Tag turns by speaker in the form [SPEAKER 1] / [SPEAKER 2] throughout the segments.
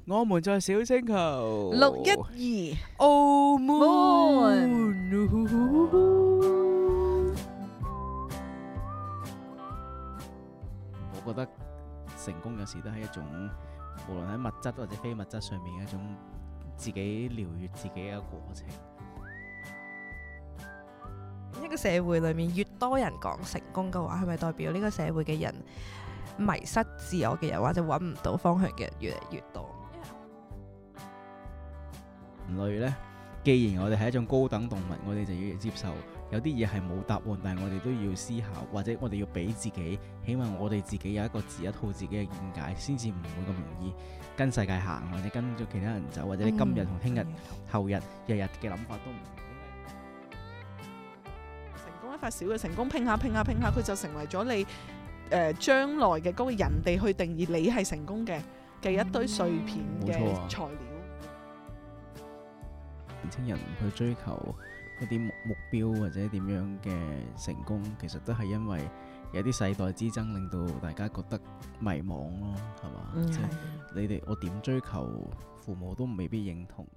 [SPEAKER 1] 我們在小星球
[SPEAKER 2] 612
[SPEAKER 1] 澳門。我覺得成功有時都係一種，無論喺物質或者非物質上面嘅一種自己療癒自己嘅過程。
[SPEAKER 2] 一個社會裏面越多人講成功嘅話，係咪代表呢個社會嘅人迷失自我嘅人，或者揾唔到方向嘅人越嚟越多？
[SPEAKER 1] 人類呢，既然我哋係一種高等動物，我哋就要接受有啲嘢係冇答案，但係我哋都要思考，或者我哋要俾自己，起碼我哋自己有一個一套自己嘅見解，先至唔會咁容易跟世界行，或者跟咗其他人走，或者你今日同聽日、後日、日日嘅諗法都唔同。
[SPEAKER 3] 成功一塊小嘅成功，拼下拼下拼下，佢就成為咗你將來嘅嗰個人哋去定義你係成功嘅一堆碎片嘅材料。
[SPEAKER 1] 年輕人去追求一啲目標或者點樣嘅成功，其實都係因為有啲世代之爭，令到大家覺得迷茫咯，係嘛？即係你哋我點追求，父母都未必認同。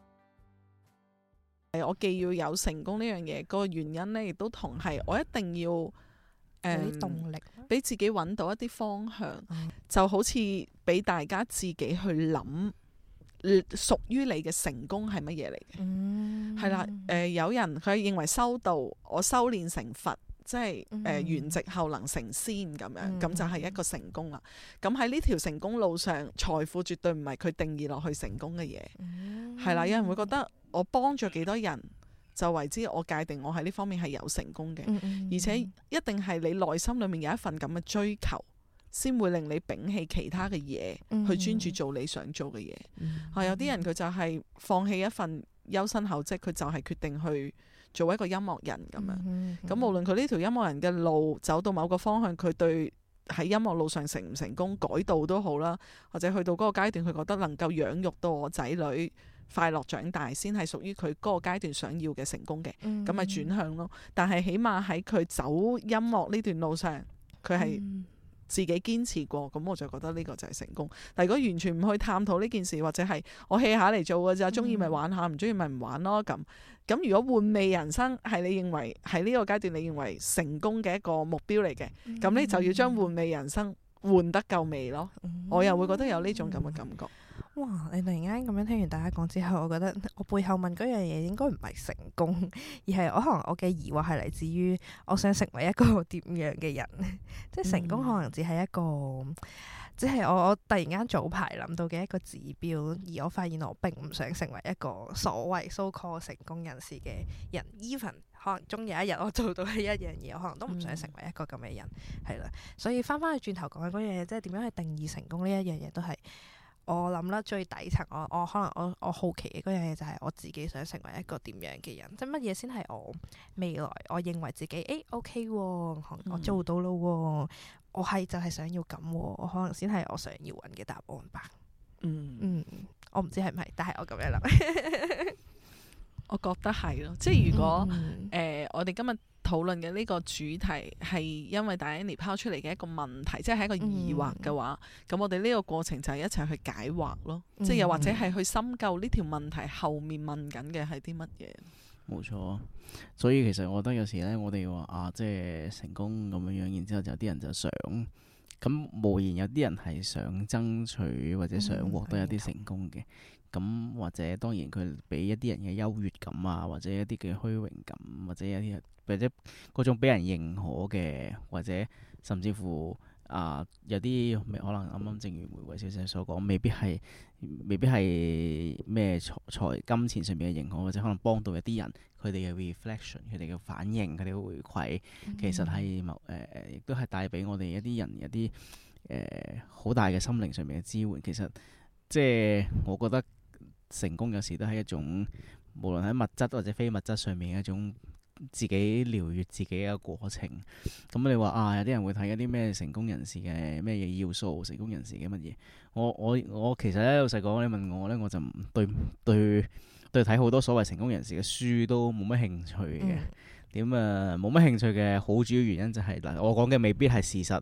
[SPEAKER 3] 我既要有成功呢樣嘢，個原因呢亦都同係我一定要有
[SPEAKER 2] 啲動力，
[SPEAKER 3] 俾自己揾到一啲方向，就好似俾大家自己去諗。屬於你嘅成功係乜嘢嚟嘅？係啦，有人佢認為修道，我修煉成佛，即係圓寂後能成仙咁樣，咁就係一個成功啦。咁喺呢條成功路上，財富絕對唔係佢定義落去成功嘅嘢。係啦，有人會覺得我幫咗幾多人就為之我界定我喺呢方面係有成功嘅，而且一定係你內心裏面有一份咁嘅追求，先會令你摒棄其他嘅嘢，去專注做你想做嘅嘢。有啲人佢就係放棄一份優薪厚職，佢就係決定去做一個音樂人咁樣。咁無論佢呢條音樂人嘅路走到某個方向，佢對喺音樂路上成唔成功改道都好啦，或者去到嗰個階段，佢覺得能夠養育到我仔女快樂長大，先係屬於佢嗰個階段想要嘅成功嘅。咁咪轉向咯。但係起碼喺佢走音樂呢段路上，佢係自己堅持過，咁我就覺得呢個就係成功。但如果完全唔去探討呢件事，或者係我 hea 下嚟做嘅咋，中意咪玩下，唔中意咪唔玩咯。咁如果換味人生係你認為喺呢個階段你認為成功嘅一個目標嚟嘅，咁你就要將換味人生換得夠味咯。我又會覺得有呢種咁嘅感覺。
[SPEAKER 2] 哇！你突然間咁樣聽完大家講之後，我覺得我背後問嗰樣嘢應該唔係成功，而係可能我嘅疑惑係嚟自於我想成為一個點樣嘅人。即係成功可能只係一個，即係我突然間早排諗到嘅一個指標，而我發現我並唔想成為一個所謂 so called 成功人士嘅人。even 可能終有一日我做到呢一樣嘢，我可能都唔想成為一個咁嘅人，係啦。所以翻去轉頭講緊嗰樣嘢，即係點樣去定義成功呢一樣嘢，都係我諗啦，最底層我可能我好奇嘅嗰樣嘢就係我自己想成為一個點樣嘅人，即係乜嘢先係我未來我認為自己OK 喎，我做到咯喎，我係就係想要咁喎，我可能先係我想要揾嘅答案吧。我唔知係唔係，但係我咁樣諗。
[SPEAKER 3] 我覺得係咯，即係如果我哋今日討論嘅呢個主題係因為 Diana 拋出嚟嘅一個問題，即係一個疑惑嘅話，咁我哋呢個過程就係一齊去解惑咯，即係又或者係去深究呢條問題後面問緊嘅係啲乜嘢。
[SPEAKER 1] 冇錯，所以其實我覺得有時咧，我哋話即係成功咁樣樣，然之後就有啲人就想，咁無言有啲人係想爭取或者想獲得一啲成功嘅。咁或者當然佢俾一啲人嘅優越感啊，或者一啲嘅虛榮感，或者嗰種俾人認可嘅，或者甚至乎有啲可能啱啱正如玫瑰小姐所講，未必係咩財金錢上面嘅認可，或者可能幫到一啲人，佢哋嘅 reflection， 佢哋嘅反應，佢哋嘅回饋，其實係亦都係帶俾我哋一啲人一啲好大嘅心靈上面嘅支援。其實即係我覺得成功有時都係一種，無論喺物質或者非物質上面嘅一種自己療癒自己嘅過程。咁你話有啲人會睇一啲咩成功人士嘅咩嘢要素，成功人士嘅乜嘢？我其實咧老實講，你問我咧，我就唔對睇好多所謂成功人士嘅書都冇乜興趣嘅。冇乜興趣嘅好主要原因就係我講嘅未必係事實，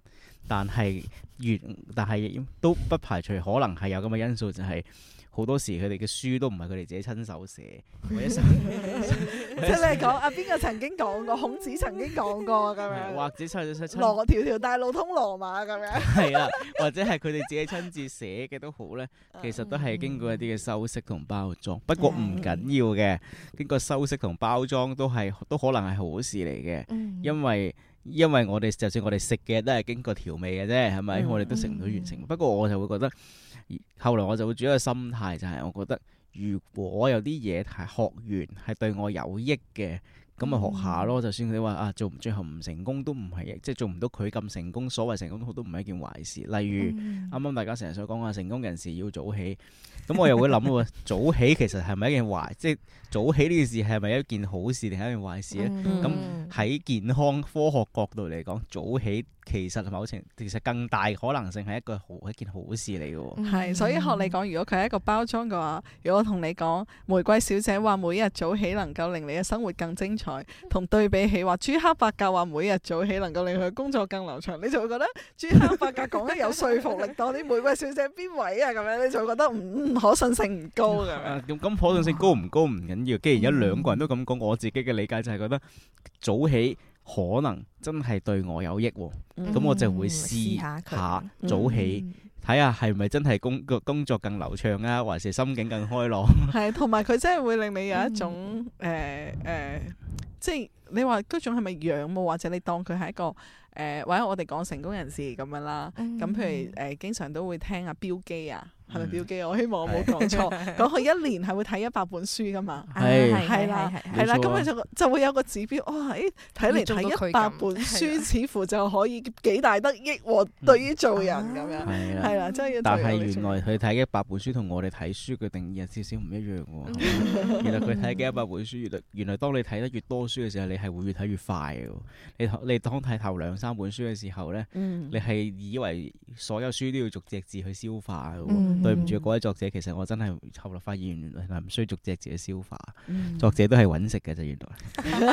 [SPEAKER 1] 但係都不排除可能係有咁嘅因素，就係好多時佢哋嘅書都唔係佢哋自己親手寫，或者即
[SPEAKER 3] 係你係講啊邊個曾經講過，孔子曾經講過咁樣，
[SPEAKER 1] 或者
[SPEAKER 3] 羅條條大路通羅馬咁樣，
[SPEAKER 1] 係啦，或者係佢哋自己親自寫嘅都好咧，其實都係經過一啲嘅修飾同包裝。不過唔緊要嘅，經過修飾同包裝都可能係好事嚟嘅，因為我哋就算我哋食嘅都係經過調味嘅啫，係咪？我哋都食唔到完成。不過我就會覺得，後來我就會轉一個心態，就係我覺得如果有啲嘢係學完係對我有益嘅，咁咪學下咯。就算你話最後唔成功都唔係，即係做唔到佢咁成功，所謂成功都唔係一件壞事。例如啱啱大家成日所講話成功人士要早起，咁我又會諗喎，早起其實係咪一件壞？即係早起呢件事係咪一件好事定係一件壞事咧？咁喺健康科學角度嚟講，早起其實更大可能性係一件好事嚟嘅喎。
[SPEAKER 3] 係，所以學你講，如果佢係一個包裝嘅話，如果我同你講玫瑰小姐話每日早起能夠令你嘅生活更精彩，同對比起話朱克伯格話每日早起能夠令佢嘅工作更流暢，你就會覺得朱克伯格講得有說服力多啲。玫瑰小姐邊位啊？咁樣你就會覺得可信性唔高嘅。
[SPEAKER 1] 咁可信性高唔高唔緊要，既然有兩個人都咁講，我自己嘅理解就係覺得早起可能真係對我有益喎，咁我就會試下早起，睇下係咪真係工作更流暢啊，還是心境更開朗？
[SPEAKER 3] 係，同埋佢真係會令你有一種即係你話嗰種係咪仰慕，或者你當佢係一個或者我哋講成功人士咁樣啦。咁譬如經常都會聽阿標基啊。係咪標記？我希望我冇講錯。講佢一年係會睇100本書噶嘛？係啦，咁佢就會有個指標。哇！睇嚟睇100本書，似乎就可以幾大得益喎。對於做人咁樣，係啦，真係要。
[SPEAKER 1] 但係原來佢睇100本書同我哋睇書嘅定義有少少唔一樣喎。原來佢睇嘅100本書，原來當你睇得越多書嘅時候，你係會越睇越快嘅。你當睇頭2-3本書嘅時候咧，你係以為所有書都要逐隻字去消化嘅。對唔住，各位作者，其實我真係後來發現，原來係唔需要逐隻字去消化。作者都係揾食嘅啫，原來。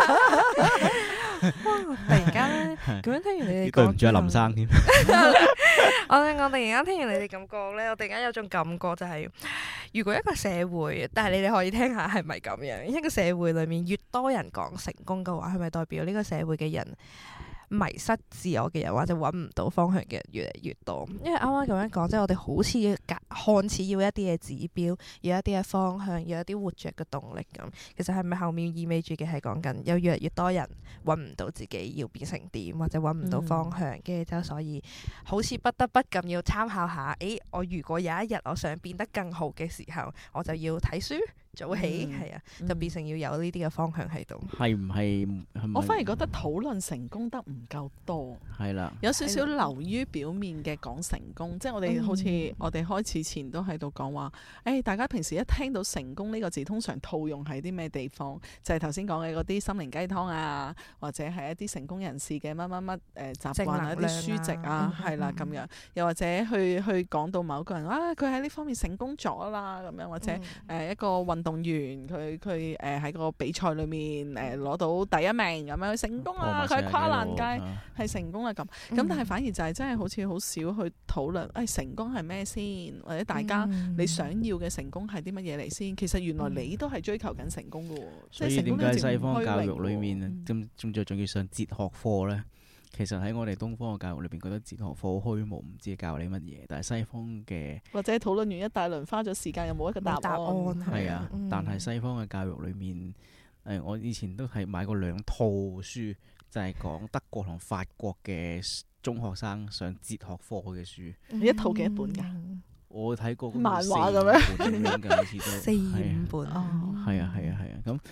[SPEAKER 2] 突然間咧，咁樣聽完你哋講，
[SPEAKER 1] 對唔住阿林生添。
[SPEAKER 2] 我突然間聽完你哋咁講咧，我突然間有種感覺就係，如果一個社會，但係你哋可以聽下係咪咁樣？一個社會裡面越多人講成功嘅話，係咪代表呢個社會嘅人迷失自我嘅人，或者揾唔到方向嘅人越嚟越多？因為啱啱咁樣講，即係我哋好似看似要一啲嘅指標，要一啲嘅方向，要一啲活着嘅動力咁。其實係咪後面意味住嘅係講緊有越嚟越多人揾唔到自己要變成點，或者揾唔到方向，跟住就所以好似不得不咁要參考下。我如果有一日我想變得更好嘅時候，我就要睇書。早起係啊，就變成要有呢啲嘅方向喺度。係唔係？
[SPEAKER 3] 我反而覺得討論成功得唔夠多。
[SPEAKER 1] 係啦，
[SPEAKER 3] 有少少流於表面嘅講成功，即係我哋好似我哋開始前都喺度講話，大家平時一聽到成功呢個字，通常套用喺啲咩地方？就係頭先講嘅嗰啲心靈雞湯啊，或者係一啲成功人士嘅乜乜乜習慣啊、一啲書籍啊，係啦咁樣。又或者去講到某個人佢喺呢方面成功咗啦咁樣，或者一個運動員佢喺個比賽裏面攞到第一名咁樣成功啦，佢喺跨欄界係成功啦咁。但係反而就係真係好似好少去討論成功係咩先，或者大家你想要嘅成功係啲乜嘢嚟先？其實原來你都係追求緊成功㗎喎。
[SPEAKER 1] 所以點解西方教育裏面仲要上哲學課呢？其實喺我哋東方嘅教育裏邊，覺得哲學課好虛無，唔知教你乜嘢。但係西方嘅或者
[SPEAKER 3] 討論完一大輪，花咗時間又冇一個答案。
[SPEAKER 1] 係啊，但係西方嘅教育裏面，我以前都係買過2套書，就係講德國同法國嘅中學生上哲學課嘅書。
[SPEAKER 3] 你一套幾多本㗎？
[SPEAKER 1] 我睇過
[SPEAKER 3] 漫畫咁樣
[SPEAKER 1] 嘅，好似都
[SPEAKER 2] 4-5本。
[SPEAKER 1] 係啊，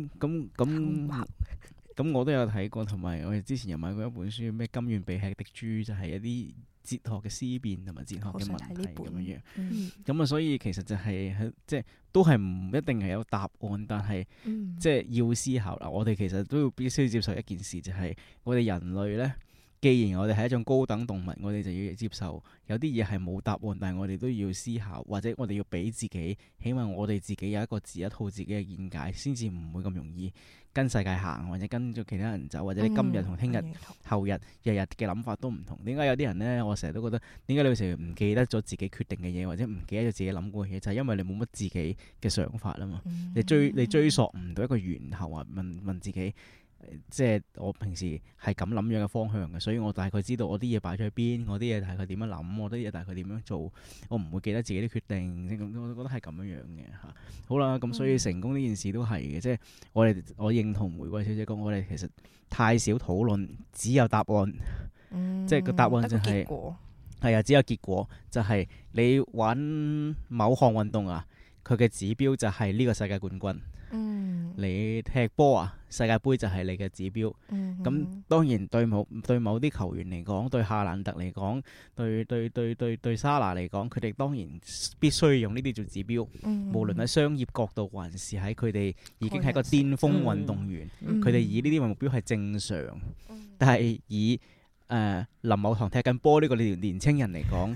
[SPEAKER 1] 咁我都有睇過，同埋我哋之前又買過一本書，咩甘願被吃的豬，就係一啲哲學嘅思辨同埋哲學嘅問題咁樣樣。咁所以其實就係即係都係唔一定係有答案，但係即係要思考啦。我哋其實都要必須接受一件事，就係我哋人類呢， 既然我哋係一種高等動物，我哋就要接受有啲嘢係冇答案，但係我哋都要思考，或者我哋要俾自己，起碼我哋自己有一套自己嘅見解，先至唔會咁容易跟世界行，或者跟咗其他人走，或者你今日同聽日、後日、日日嘅諗法都唔同。點解有啲人呢？我成日都覺得，點解你成日唔記得咗自己決定嘅嘢，或者唔記得咗自己諗過嘅嘢，就係因為你冇乜自己嘅想法啊嘛。你追溯唔到一個源頭啊，問自己。即係我平時係咁諗樣嘅方向嘅，所以我大概知道我啲嘢擺咗喺邊，我啲嘢大概點樣諗，我啲嘢大概點樣做，我唔會記得自己啲決定，我覺得係咁樣嘅嚇。好啦，咁所以成功呢件事都係嘅，即係我認同玫瑰小姐講，我哋其實太少討論，只有答案，即係個答案就係係啊，只有結果就係你玩某項運動啊，佢嘅指標就係呢個世界冠軍。你踢波啊，世界盃就係你嘅指標。咁當然對某啲球員嚟講，對夏蘭特嚟講，對莎拿嚟講，佢哋當然必須用呢啲做指標。無論喺商業角度，還是喺佢哋已經係一個巔峰運動員，佢哋以呢啲為目標係正常。但係以林某堂踢緊波呢個年青人嚟講，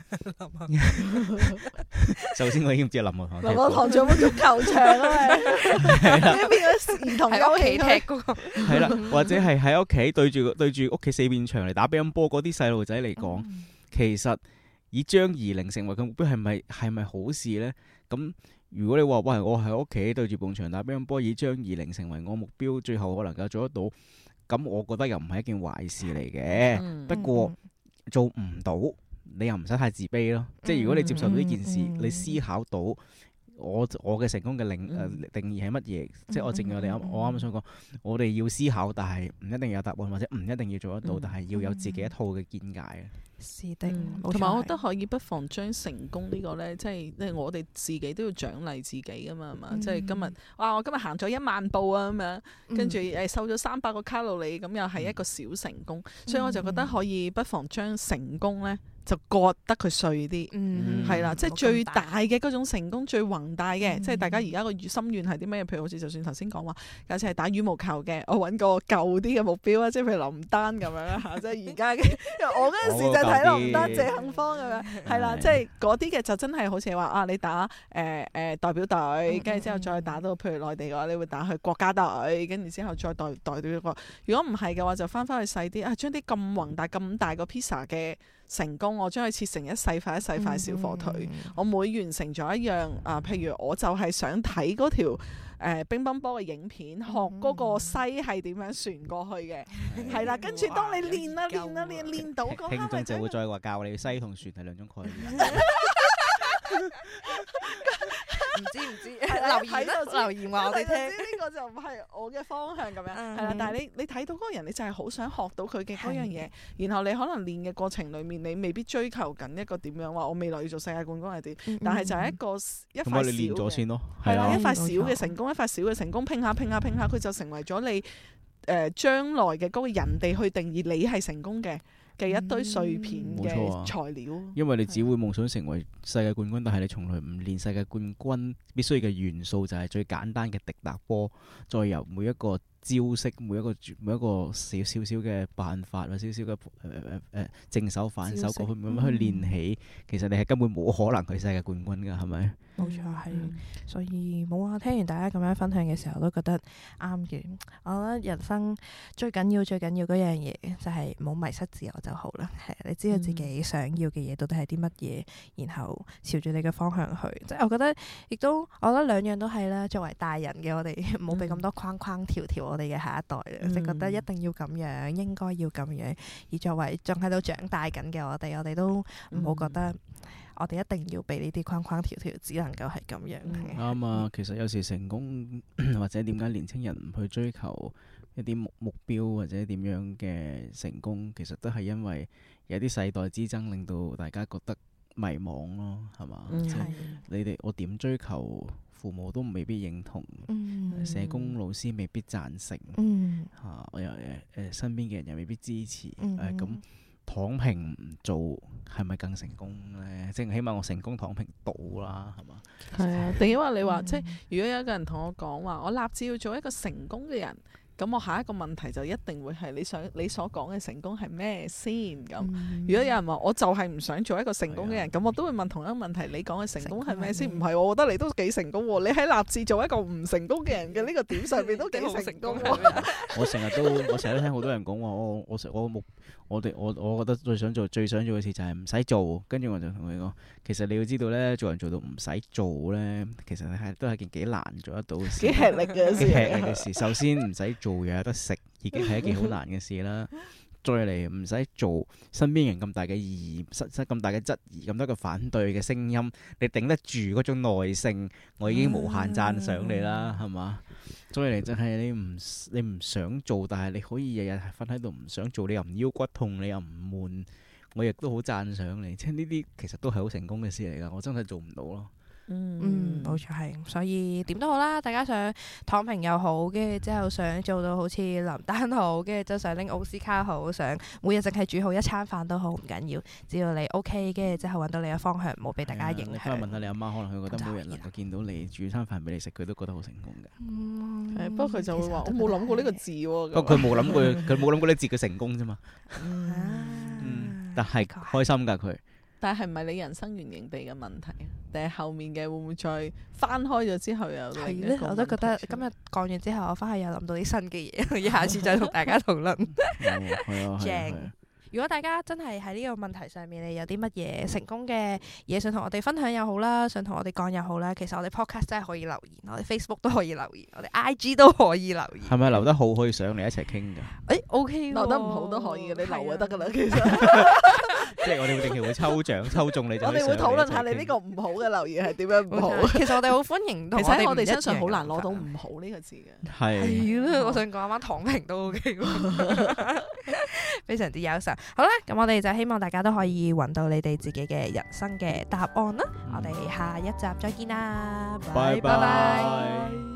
[SPEAKER 1] 首先我已經唔知林某堂。林某堂仲有冇足球場啊？係變咗兒童喺屋企踢嗰個。係啦，或者係喺屋企對住屋企四面牆嚟打乒乓波嗰啲細路仔嚟講，其實以張怡玲成為佢目標係咪好事呢？咁如果你話喂，我喺屋企對住埲牆打乒乓波，以張怡玲成為我目標，最後我能夠做得到。咁我覺得又唔係一件壞事嚟嘅，不過做唔到，你又唔使太自卑咯。即係如果你接受到呢件事，你思考到我嘅成功嘅定義係乜嘢？即係我正如我啱啱想講，我哋要思考，但係唔一定有答案，或者唔一定要做得到，但係要有自己一套嘅見解。
[SPEAKER 2] 是的，
[SPEAKER 3] 同埋我覺得可以不妨將成功呢個呢，即係我哋自己都要獎勵自己噶嘛，係嘛？即係今日我今日行咗1萬步啊咁樣，跟住瘦咗300個卡路里，咁又係一個小成功。所以我就覺得可以不妨將成功呢，就割得佢碎啲，係啦，即係最大嘅嗰種成功，最宏大嘅，即係大家而家個心願係啲咩？譬如好似就算頭先講話，假設係打羽毛球嘅，我揾個舊啲嘅目標啊，即係譬如林丹咁樣啦嚇，即係而家嘅，因為我嗰陣時就睇林丹、謝杏芳咁樣，係啦，即係嗰啲嘅就真係好似話啊，你打代表隊，跟住之後再打到譬如內地嘅話，你會打去國家隊，跟住之後再代表一個。如果唔係嘅話，就翻返去細啲啊，將啲咁宏大、咁大個 pizza 嘅成功，我將佢切成一細塊一細塊小火腿。我每完成咗一樣譬如我就係想睇嗰條乒乓波嘅影片，學嗰個西係點樣旋過去嘅，係啦。跟住當你練到嗰刻，
[SPEAKER 1] 聽眾就會再話教你西同旋係兩種概念。
[SPEAKER 2] 唔知留言話我哋聽，
[SPEAKER 3] 呢個就唔係我嘅方向咁樣，係啦。但係你睇到嗰個人，你就係好想學到佢嘅嗰樣嘢，然後你可能練嘅過程裡面，你未必追求緊一個點樣話，我未來要做世界冠軍係點，但係就係一塊
[SPEAKER 1] 你練咗先咯，
[SPEAKER 3] 係啦，一塊小嘅成功，一塊小嘅成功，拼下，佢就成為咗你將來嘅嗰個人哋去定義你係成功嘅一堆碎片嘅材料，
[SPEAKER 1] 因為你只會夢想成為世界冠軍，但係你從來唔練世界冠軍必須嘅元素，就係最簡單嘅滴答波，再由每一個招式，每一個少少嘅辦法或少少嘅正手反手過去咁樣去練起，其實你係根本冇可能去世界冠軍㗎，係咪？
[SPEAKER 2] 冇錯，係，所以冇啊！聽完大家咁樣分享嘅時候，都覺得啱嘅。我覺得人生最緊要嗰樣嘢就係冇迷失自我就好啦。係，你知道自己想要嘅嘢到底係啲乜嘢，然後朝住你嘅方向去。即係我覺得我覺得兩樣都係啦。作為大人嘅我哋，唔好俾咁多框框條我哋嘅下一代啦，即係覺得一定要咁樣，應該要咁樣。而作為仲喺度長大緊嘅我哋都唔好覺得我哋一定要俾呢啲框框條，只能夠係咁樣。
[SPEAKER 1] 啱啊！其實有時成功或者點解年輕人唔去追求一啲目標或者點樣嘅成功，其實都係因為有啲世代之爭令到大家覺得迷茫咯，係嘛？我點追求？父母都未必認同，社工老師未必贊成，我又身邊嘅人又未必支持，咁躺平唔做係咪更成功呢？即係起碼我成功躺平到啦，係嘛？
[SPEAKER 3] 係啊，定因為你話即係如果有一個人同我講話，我立志要做一個成功嘅人， 咁我下一個問題就一定會係你所講嘅成功係咩先咁？如果有人話我就係唔想做一個成功嘅人，咁我都會問同一個問題：你講嘅成功係咩先？唔係，我覺得你都幾成功喎！你喺立志做一個唔成功嘅人嘅呢個點上面都幾成功喎！
[SPEAKER 1] 我成日都聽好多人講話，我覺得最想做嘅事就係唔使做，跟住我就同佢講，其實你要知道咧，做人做到唔使做咧，其實都係件幾難做得到嘅事，
[SPEAKER 3] 幾吃力嘅事。
[SPEAKER 1] 首先唔使做又有得食，已經係一件好難嘅事啦。再嚟唔使做，身邊人咁大嘅疑義、咁大嘅質疑、咁多嘅反對嘅聲音，你頂得住嗰種耐性，我已經無限讚賞你啦，係嘛？再嚟就係你唔想做，但係你可以日日瞓喺度唔想做，你又唔腰骨痛，你又唔悶，我亦都好讚賞你。即係呢啲其實都係好成功嘅事嚟㗎，我真係做唔到咯。
[SPEAKER 2] 冇錯係，所以點都好啦，大家想躺平又好，跟住之後想做到好似林丹好，跟住就想拎奧斯卡好，想每日淨係煮好一餐飯都好唔緊要，只要你 OK，跟住之後揾到你嘅方向，唔好俾大家影響。
[SPEAKER 1] 你翻去問下你阿媽，可能佢覺得每日能夠見到你煮餐飯俾你食，佢都覺得好成功嘅。
[SPEAKER 3] 不過佢就會話：我冇諗過呢個字喎。
[SPEAKER 1] 不過佢冇諗過呢字嘅成功啫嘛。但係開心㗎佢。
[SPEAKER 3] 但係唔係你人生原型地嘅問題，定係後面嘅會唔會再翻開咗之後又另一個問題？
[SPEAKER 2] 我都覺得今日講完之後，我翻去又諗到啲新嘅嘢，下次再同大家討論。正。如果大家真係喺呢個問題上面，你有啲乜嘢成功嘅嘢想同我哋分享又好啦，想同我哋講又好啦，其實我哋 podcast 真係可以留言，我哋 Facebook 都可以留言，我哋 IG 都可以留言。係
[SPEAKER 1] 咪留得好可以上嚟一齊傾㗎
[SPEAKER 2] ？OK，
[SPEAKER 3] 留得唔好都可以嘅，你留就得㗎啦。其實
[SPEAKER 1] 即係我哋會定期會抽獎抽中你就。
[SPEAKER 3] 我哋會討論下你呢個唔好嘅留言係點樣唔好。
[SPEAKER 2] 其實我哋好歡迎。其
[SPEAKER 3] 實喺我哋身上好難攞到唔好呢個字嘅。
[SPEAKER 1] 係。
[SPEAKER 2] 我想講啱啱躺平都 OK 喎，非常之優秀。好啦，咁我哋就希望大家都可以揾到你哋自己嘅人生嘅答案啦。我哋下一集再見啦，拜拜。